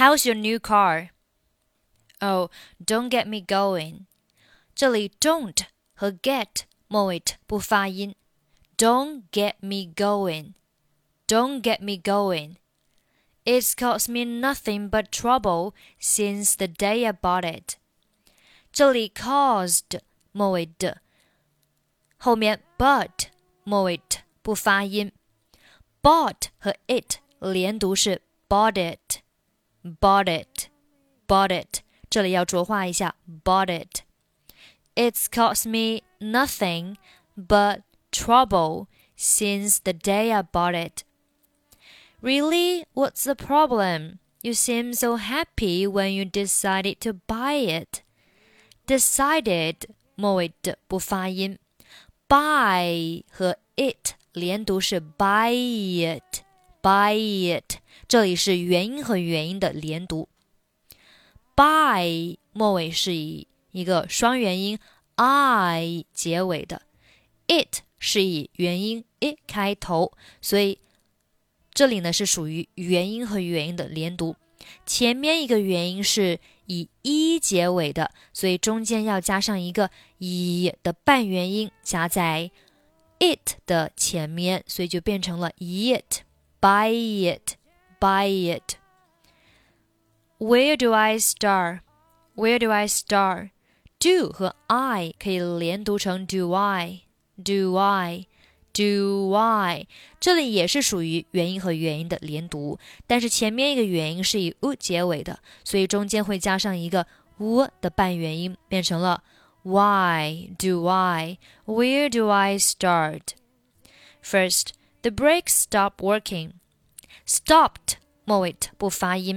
How's your new car? Oh, don't get me going. 这里 don't 和 get 末尾不发音。Don't get me going. Don't get me going. It's caused me nothing but trouble since the day I bought it. 这里 caused 末尾的，后面 but 末尾不发音。Bought 和 it 连读是 bought it, bought it, bought it. 这里要浊化一下 bought it. It's caused me nothing but trouble since the day I bought it. Really? What's the problem? You seem so happy when you decided to buy it. Decided 末尾的不发音。Buy 和 it 连读是 buy it, buy it. 这里是元音和元音的连读。Buy 末尾是以一个双元音 I 结尾的。It 是以元音 it 开头，所以这里呢是属于元音和元音的连读。前面一个元音是以 一 结尾的，所以中间要加上一个 一 的半元音加在 it 的前面，所以就变成了 it, buy it, buy it. Where do I start? Where do I start? Do 和 I 可以连读成 do I, do I, do I. 这里也是属于元音和元音的连读，但是前面一个元音是以 u 结尾的，所以中间会加上一个 u 的半元音，变成了 Why do I? Where do I start? First, the brakes stopped working. Stopped 末尾不发音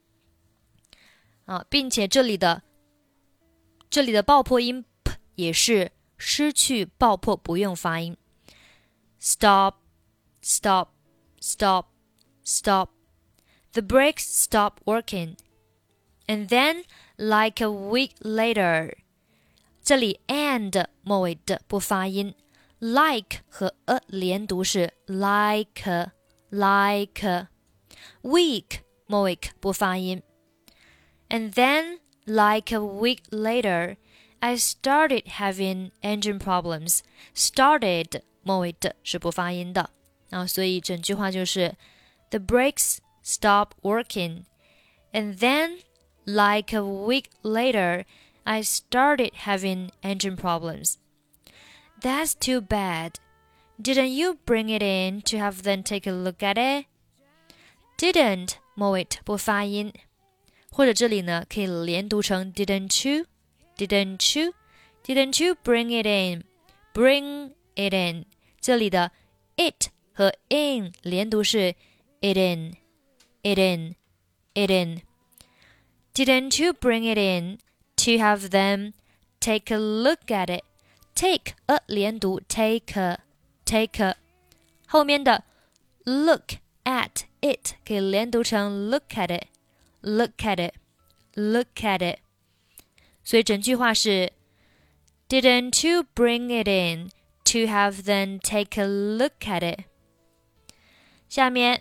并且这里的爆破音 p 也是失去爆破，不用发音。Stop, stop, stop, stop. The brakes stopped working. And then, like a week later, 这里 and 末尾的不发音 ，like 和 a 连读是 like, like. Week 末尾不发音。And then, like a week later, I started having engine problems. Started 末尾的是不发音的所以整句话就是 The brakes stopped working. And then, like a week later, I started having engine problems. That's too bad. Didn't you bring it in to have them take a look at it? Didn't 末尾不发音，或者这里呢可以连读成 Didn't you? Didn't you? Didn't you bring it in? Bring it in. 这里的 it 和 in 连读是 it in, it in, it in. Didn't you bring it in to have them take a look at it? Take a 连读 take a, take a. 后面的 look at it 可以连读成 look at it, look at it, look at it. 所以整句话是 Didn't you bring it in to have them take a look at it? 下面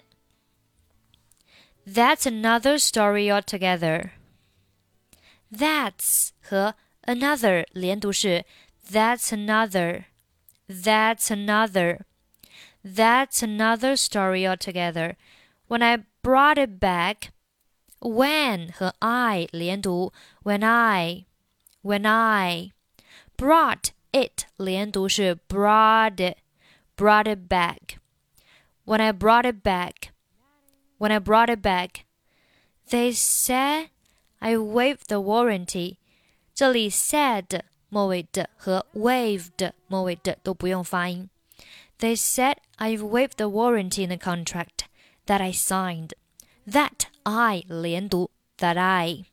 That's another story altogether. That's 和 another 连读是 That's another, that's another, that's another story altogether. When I brought it back, when 和 I 连读 when I brought it 连读是 brought it back. When I brought it back, they said I waived the warranty. 这里 said 末尾的和 waived 末尾的都不用发音。They said I waived the warranty in the contract that I signed. That I 连读 that I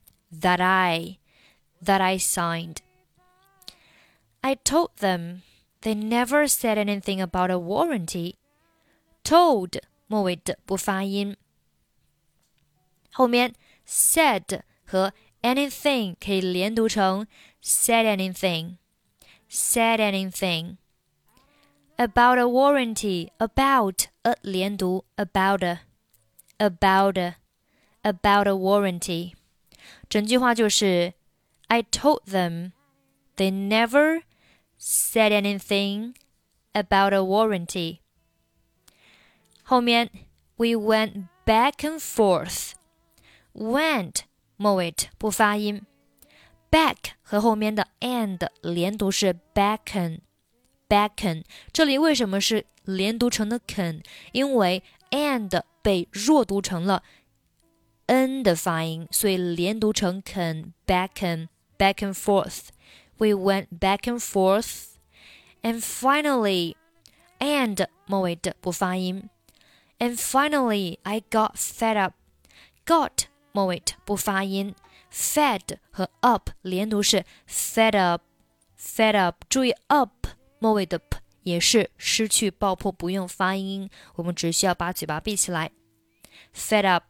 signed. I told them. They never said anything about a warranty. Told 末尾的不发音。后面 said 和 anything 可以连读成 said anything, said anything. About a warranty, about a 连读 about a, about a warranty. 整句话就是 I told them they never said anything about a warranty. 后面 We went back and forth. Went 末尾不发音， back 和后面的 and 连读是 backen. 这里为什么是连读成的 can？ 因为 and 被弱读成了 n 的发音，所以连读成 can back and forth. We went back and forth. And finally, and 末尾的不发音。And finally, I got fed up. Got 末尾不发音。Fed 和 up 连读是 fed up. 注意 up 末尾的 p 也是失去爆破，不用发音，我们只需要把嘴巴闭起来。Fed up.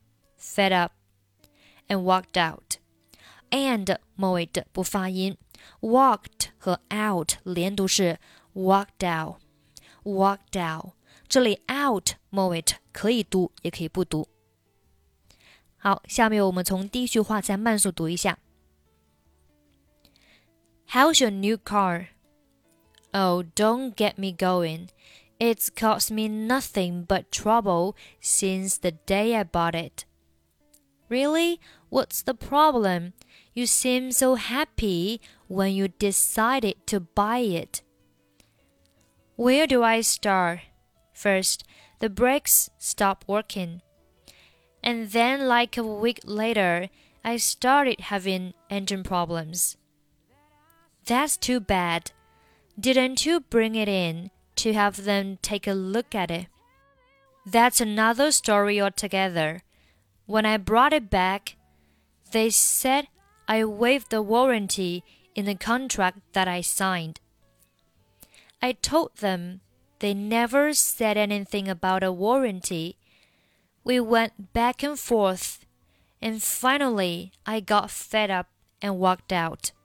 And walked out. And 末尾的不发音。Walked 和 out 连读是 walked out. 这里 out 末尾可以读也可以不读。好，下面我们从第一句话再慢速读一下。How's your new car? Oh, don't get me going. It's cost me nothing but trouble since the day I bought it. Really? What's the problem? You seem so happy when you decided to buy it. Where do I start? First, the brakes stopped working. And then, like a week later, I started having engine problems. That's too bad. Didn't you bring it in to have them take a look at it? That's another story altogether. When I brought it back, they said I waived the warranty in the contract that I signed. I told them they never said anything about a warranty. We went back and forth, and finally I got fed up and walked out.